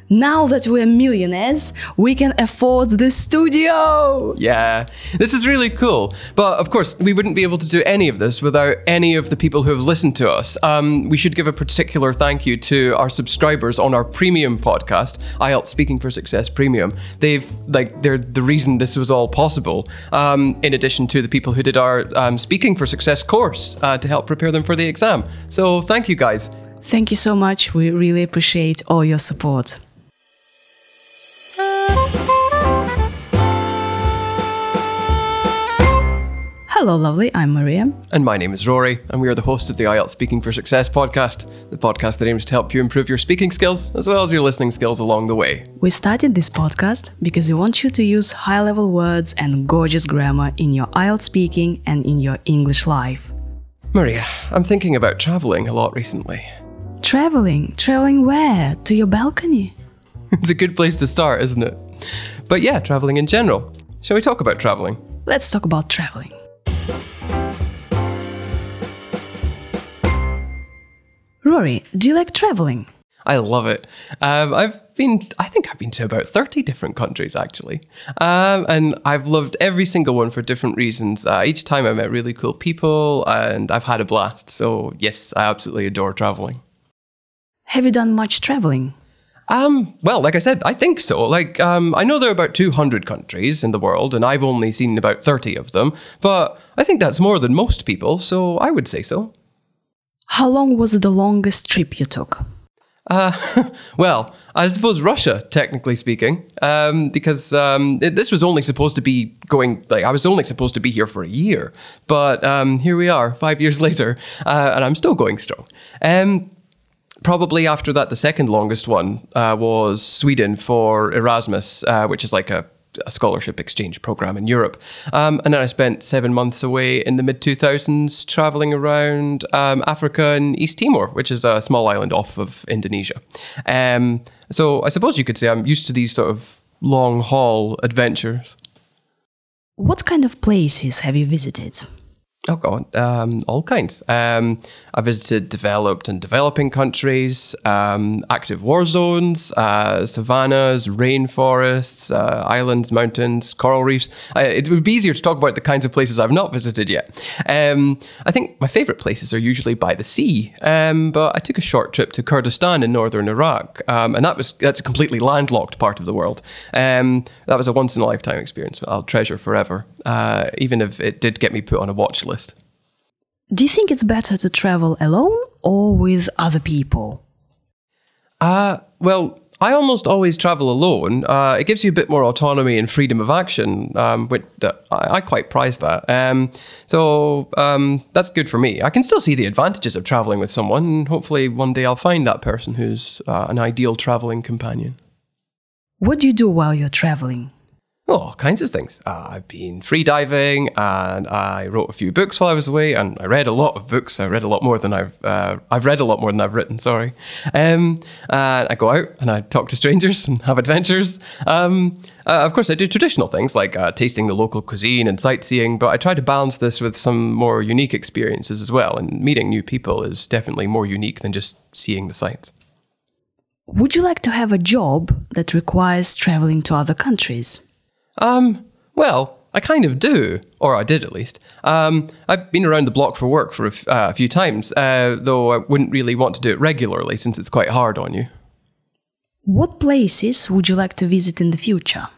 Now that we're millionaires, we can afford the studio! Yeah, this is really cool. But of course, we wouldn't be able to do any of this without any of the people who have listened to us. We should give a particular thank you to our subscribers on our premium podcast, IELTS Speaking for Success Premium. They're the reason this was all possible. In addition to the people who did our Speaking for Success course to help prepare them for the exam. So thank you guys. Thank you so much. We really appreciate all your support. Hello, lovely. I'm Maria. And my name is Rory, and we are the hosts of the IELTS Speaking for Success podcast, the podcast that aims to help you improve your speaking skills as well as your listening skills along the way. We started this podcast because we want you to use high-level words and gorgeous grammar in your IELTS speaking and in your English life. Maria, I'm thinking about traveling a lot recently. Traveling? Traveling where? To your balcony? It's a good place to start, isn't it? But yeah, traveling in general. Shall we talk about traveling? Let's talk about traveling. Rory, do you like traveling? I love it. I think I've been to about 30 different countries, actually. And I've loved every single one for different reasons. Each time I met really cool people and I've had a blast. So yes, I absolutely adore traveling. Have you done much traveling? Well, like I said, I think so. I know there are about 200 countries in the world and I've only seen about 30 of them. But I think that's more than most people, so I would say so. How long was the longest trip you took? Well, I suppose Russia, technically speaking, because this was only supposed to be I was only supposed to be here for a year. But here we are, 5 years later, and I'm still going strong. Probably after that, the second longest one was Sweden for Erasmus, which is like a scholarship exchange program in Europe. And then I spent 7 months away in the mid-2000s traveling around Africa and East Timor, which is a small island off of Indonesia. So I suppose you could say I'm used to these sort of long-haul adventures. What kind of places have you visited? Oh God, all kinds. I visited developed and developing countries, active war zones, savannas, rainforests, islands, mountains, coral reefs. It would be easier to talk about the kinds of places I've not visited yet. I think my favorite places are usually by the sea, but I took a short trip to Kurdistan in northern Iraq, and that's a completely landlocked part of the world. That was a once-in-a-lifetime experience I'll treasure forever, even if it did get me put on a watch list. Do you think it's better to travel alone or with other people? Well, I almost always travel alone. It gives you a bit more autonomy and freedom of action, which I quite prize that. So that's good for me. I can still see the advantages of traveling with someone, and hopefully one day I'll find that person who's an ideal traveling companion. What do you do while you're traveling? Oh, all kinds of things. I've been freediving, and I wrote a few books while I was away, and I read a lot of books. I read a lot more than I've read a lot more than I've written. Sorry. I go out and I talk to strangers and have adventures. Of course, I do traditional things like tasting the local cuisine and sightseeing, but I try to balance this with some more unique experiences as well. And meeting new people is definitely more unique than just seeing the sights. Would you like to have a job that requires traveling to other countries? Well, I kind of do, or I did at least. I've been around the block for work for a few times, though I wouldn't really want to do it regularly since it's quite hard on you. What places would you like to visit in the future?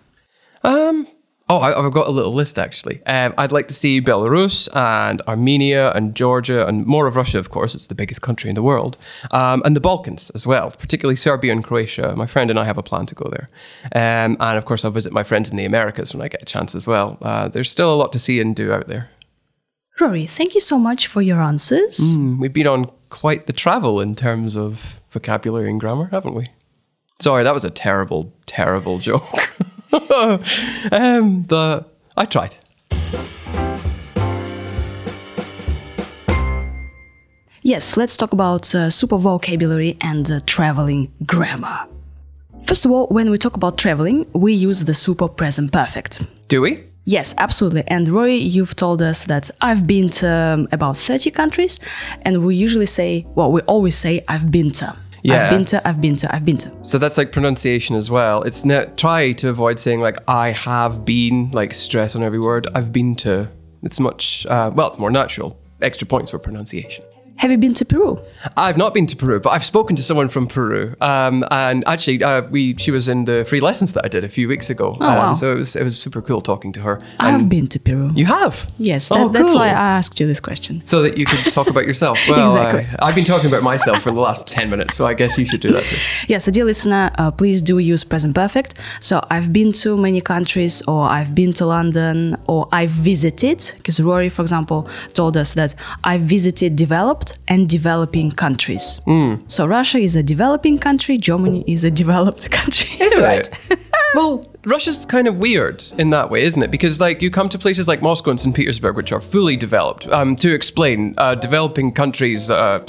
I've got a little list actually. I'd like to see Belarus and Armenia and Georgia and more of Russia, of course. It's the biggest country in the world. And the Balkans as well, particularly Serbia and Croatia. My friend and I have a plan to go there. And of course, I'll visit my friends in the Americas when I get a chance as well. There's still a lot to see and do out there. Rory, thank you so much for your answers. We've been on quite the travel in terms of vocabulary and grammar, haven't we? Sorry, that was a terrible, terrible joke. But I tried. Yes, let's talk about super vocabulary and traveling grammar. First of all, when we talk about traveling, we use the super present perfect. Do we? Yes, absolutely. And Rory, you've told us that I've been to about 30 countries, and we always say I've been to. Yeah. I've been to. So that's like pronunciation as well. It's try to avoid saying like I have been, like stress on every word. I've been to. It's much, it's more natural. Extra points for pronunciation. Have you been to Peru? I've not been to Peru, but I've spoken to someone from Peru. And actually, she was in the free lessons that I did a few weeks ago. Wow. So it was super cool talking to her. I've been to Peru. You have? Yes, Oh, that's cool. why I asked you this question. So that you could talk about yourself. Well, Exactly. I've been talking about myself for the last 10 minutes, so I guess you should do that too. Yeah, so dear listener, please do use present perfect. So I've been to many countries, or I've been to London, or I've visited, because Rory, for example, told us that I've visited developed and developing countries. So Russia is a developing country, Germany is a developed country. Isn't Right. it? Well, Russia's kind of weird in that way, isn't it? Because like you come to places like Moscow and St. Petersburg, which are fully developed. To explain, developed countries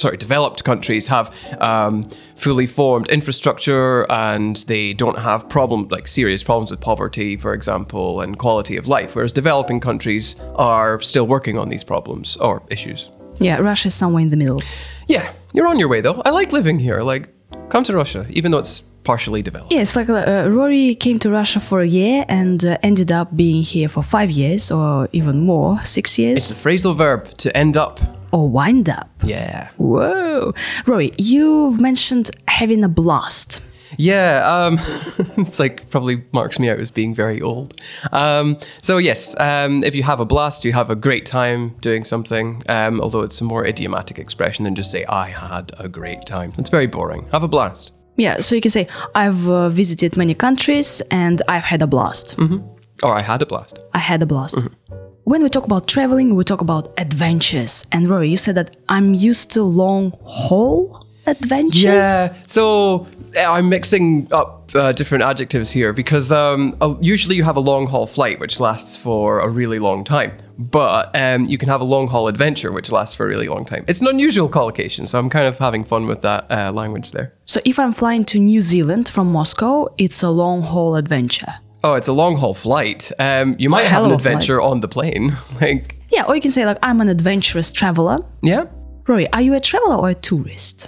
have fully formed infrastructure, and they don't have serious problems with poverty, for example, and quality of life. Whereas developing countries are still working on these problems or issues. Yeah, Russia is somewhere in the middle. Yeah, you're on your way though. I like living here. Like, come to Russia, even though it's partially developed. Yeah, it's like Rory came to Russia for a year and ended up being here for 5 years, or even more, 6 years, It's a phrasal verb to end up. or wind up. Yeah. Whoa. Rory, you've mentioned having a blast. Yeah, it's like probably marks me out as being very old. So yes, if you have a blast, you have a great time doing something, although it's a more idiomatic expression than just say, I had a great time. It's very boring. Have a blast. Yeah, so you can say, I've visited many countries and I've had a blast. Or I had a blast. I had a blast. When we talk about traveling, we talk about adventures. And Rory, you said that I'm used to long haul adventures. Yeah, so I'm mixing up different adjectives here because usually you have a long haul flight which lasts for a really long time, but you can have a long haul adventure which lasts for a really long time. It's an unusual collocation, so I'm kind of having fun with that language there. So if I'm flying to New Zealand from Moscow, it's a long haul adventure. Oh, it's a long haul flight. You might a have hell an of a flight. adventure on the plane. Like, Yeah, or you can say like, I'm an adventurous traveler. yeah. Rory, are you a traveler or a tourist?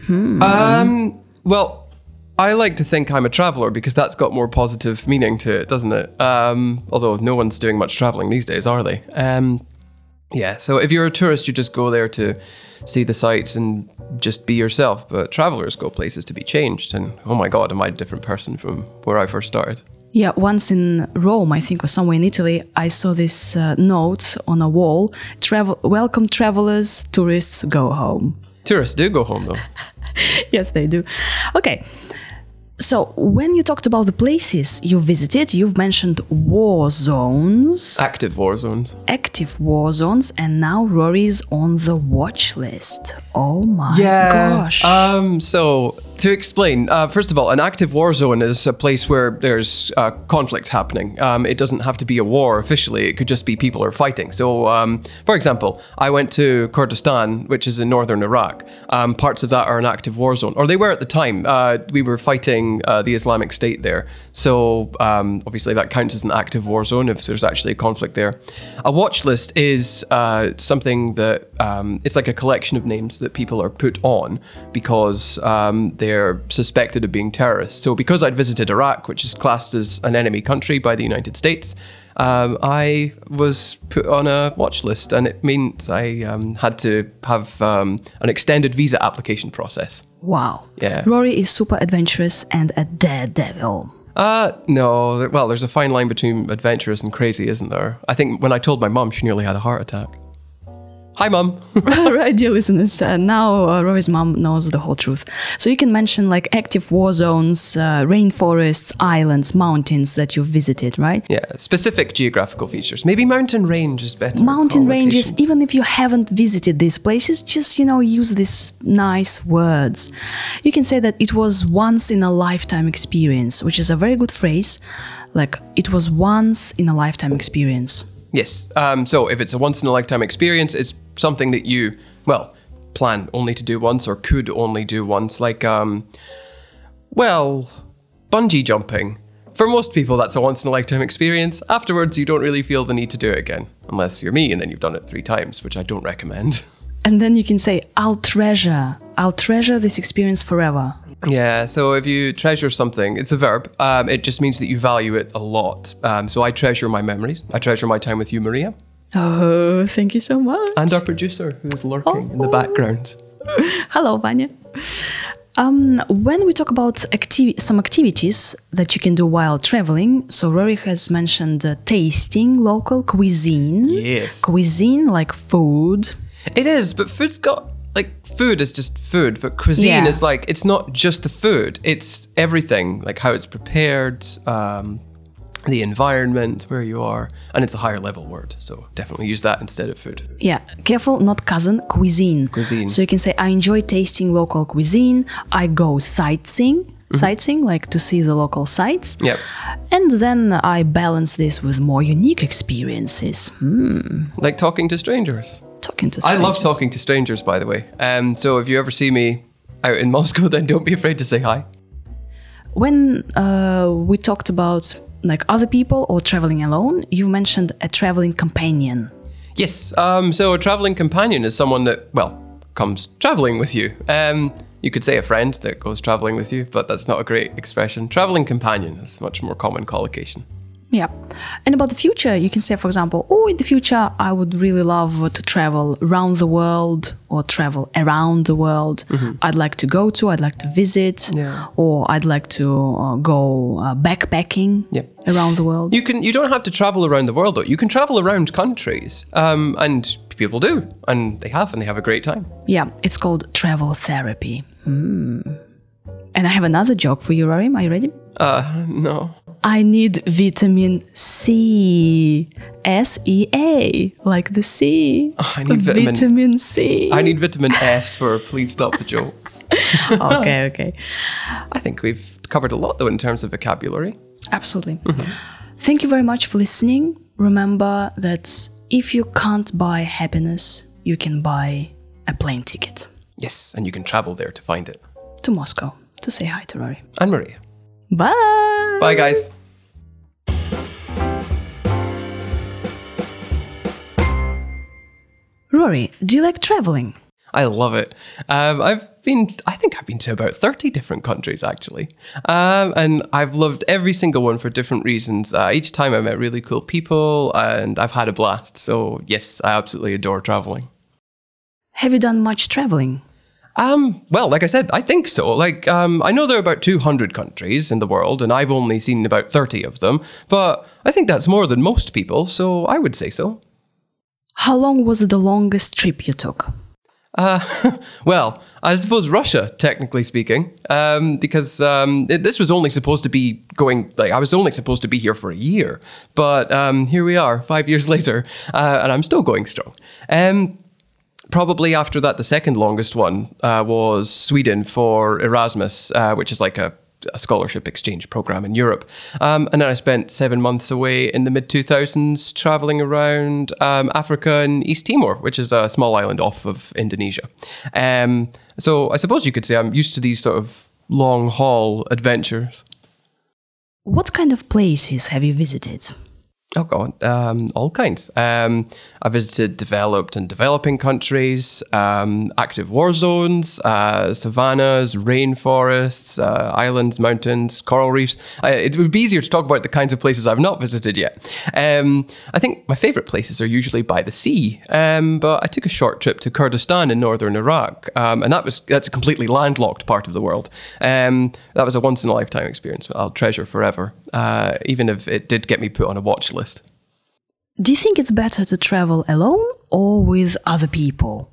Well, I like to think I'm a traveler because that's got more positive meaning to it, doesn't it? Although no one's doing much traveling these days, are they? Yeah, so if you're a tourist, you just go there to see the sights and just be yourself. But travelers go places to be changed. And oh my God, am I a different person from where I first started? Yeah, once in Rome, I think, or somewhere in Italy, I saw this note on a wall. Welcome travelers, tourists, go home. Tourists do go home though. Yes, they do. Okay. So when you talked about the places you visited, you've mentioned war zones, Active war zones. active war zones, and now Rory's on the watch list. Oh my gosh. So to explain, first of all, an active war zone is a place where there's conflict happening. It doesn't have to be a war officially. It could just be people are fighting. So, for example, I went to Kurdistan, which is in northern Iraq. Parts of that are an active war zone, or they were at the time. We were fighting the Islamic State there. So obviously that counts as an active war zone if there's actually a conflict there. A watch list is something that it's like a collection of names that people are put on because they're suspected of being terrorists. So because I'd visited Iraq, which is classed as an enemy country by the United States, I was put on a watch list, and it means I had to have an extended visa application process. Wow. Yeah. Rory is super adventurous and a daredevil. No. Well, there's a fine line between adventurous and crazy, isn't there? I think when I told my mum, she nearly had a heart attack. Hi, Mum. Right, dear listeners, now Rory's mom knows the whole truth. So you can mention like active war zones, rainforests, islands, mountains that you've visited, right? Yeah, specific geographical features. Maybe mountain range is better. Mountain ranges, Collocations. even if you haven't visited these places, just, use these nice words. You can say that it was once in a lifetime experience, which is a very good phrase. Like, it was once in a lifetime experience. Yes. So if it's a once-in-a-lifetime experience, it's something that you, plan only to do once or could only do once. Like, bungee jumping. For most people, that's a once-in-a-lifetime experience. Afterwards, you don't really feel the need to do it again. Unless you're me and then you've done it 3 times, which I don't recommend. And then you can say, I'll treasure I'll treasure this experience forever. Yeah, so if you treasure something, it's a verb. It just means that you value it a lot. So I treasure my memories. I treasure my time with you, Maria. Oh, thank you so much. And our producer, who is lurking in the background. Hello, Vanya. When we talk about some activities that you can do while traveling, so Rory has mentioned tasting local cuisine. Yes. Cuisine, like food. It is, but food's got, like, food is just food, but cuisine is like, it's not just the food, it's everything, like how it's prepared, the environment, where you are, and it's a higher level word, so definitely use that instead of food. Yeah, careful, not cousin, cuisine. Cuisine. So you can say, I enjoy tasting local cuisine, I go sightseeing, like to see the local sites. Yep. And then I balance this with more unique experiences. Like talking to strangers. Talking to I strangers. love talking to strangers, by the way. So if you ever see me out in Moscow, then don't be afraid to say hi. When we talked about like other people or traveling alone, you mentioned a traveling companion. Yes, so a traveling companion is someone that, well, comes traveling with you. You could say a friend that goes traveling with you, but that's not a great expression. Traveling companion is a much more common collocation. Yeah. And about the future, you can say, for example, oh, in the future, I would really love to travel around the world or travel around the world. I'd like to go to, I'd like to visit, or I'd like to go backpacking around the world. You don't have to travel around the world, though. You can travel around countries, and people do, and they have a great time. Yeah, it's called travel therapy. And I have another joke for you, Rory. Are you ready? No. I need vitamin C. S-E-A, like the sea. I need vitamin C. I need vitamin S for please stop the jokes. Okay. I think we've covered a lot, though, in terms of vocabulary. Absolutely. Thank you very much for listening. Remember that if you can't buy happiness, you can buy a plane ticket. Yes, and you can travel there to find it. To Moscow, to say hi to Rory. And Maria. Bye! Bye, guys. Rory, do you like traveling? I love it. I think I've been to about 30 different countries, actually. And I've loved every single one for different reasons. Each time I met really cool people and I've had a blast. So yes, I absolutely adore traveling. Have you done much traveling? Well, like I said, I think so. Like, I know there are about 200 countries in the world and I've only seen about 30 of them, but I think that's more than most people. So I would say so. How long was the longest trip you took? Well, I suppose Russia, technically speaking, because this was only supposed to be going, like, I was only supposed to be here for a year, but here we are 5 years later, and I'm still going strong. Probably after that, the second longest one was Sweden for Erasmus, which is like a scholarship exchange program in Europe. And then I spent 7 months away in the mid-2000s traveling around Africa and East Timor, which is a small island off of Indonesia. So I suppose you could say I'm used to these sort of long-haul adventures. What kind of places have you visited? Oh, God, all kinds. I visited developed and developing countries, active war zones, savannas, rainforests, islands, mountains, coral reefs. It would be easier to talk about the kinds of places I've not visited yet. I think my favorite places are usually by the sea, but I took a short trip to Kurdistan in northern Iraq, and that's a completely landlocked part of the world. That was a once-in-a-lifetime experience I'll treasure forever, even if it did get me put on a watch list. Do you think it's better to travel alone or with other people?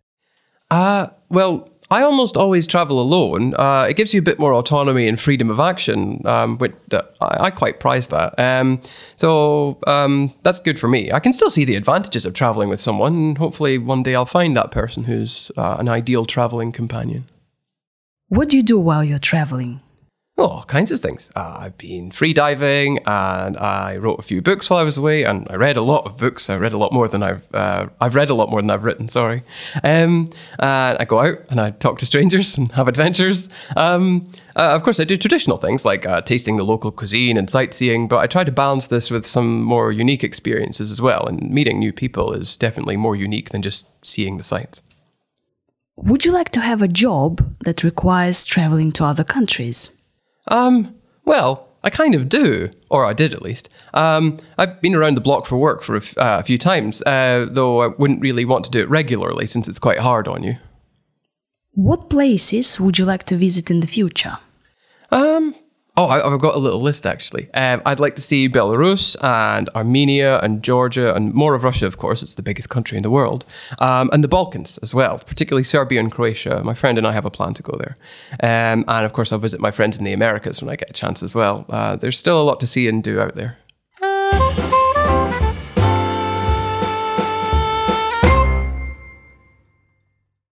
Well, I almost always travel alone. It gives you a bit more autonomy and freedom of action, which I quite prize that. So that's good for me. I can still see the advantages of traveling with someone, and hopefully one day I'll find that person who's an ideal traveling companion. What do you do while you're traveling? Well, all kinds of things. I've been free diving, and I wrote a few books while I was away, and I read a lot of books. I read a lot more than I've read a lot more than I've written. Sorry. And I go out and I talk to strangers and have adventures. Of course, I do traditional things like tasting the local cuisine and sightseeing, but I try to balance this with some more unique experiences as well. And meeting new people is definitely more unique than just seeing the sights. Would you like to have a job that requires traveling to other countries? Well, I kind of do, or I did at least. I've been around the block for work for a few times, though I wouldn't really want to do it regularly since it's quite hard on you. What places would you like to visit in the future? I've got a little list actually. I'd like to see Belarus and Armenia and Georgia and more of Russia, of course. It's the biggest country in the world. And the Balkans as well, particularly Serbia and Croatia. My friend and I have a plan to go there. And of course, I'll visit my friends in the Americas when I get a chance as well. There's still a lot to see and do out there.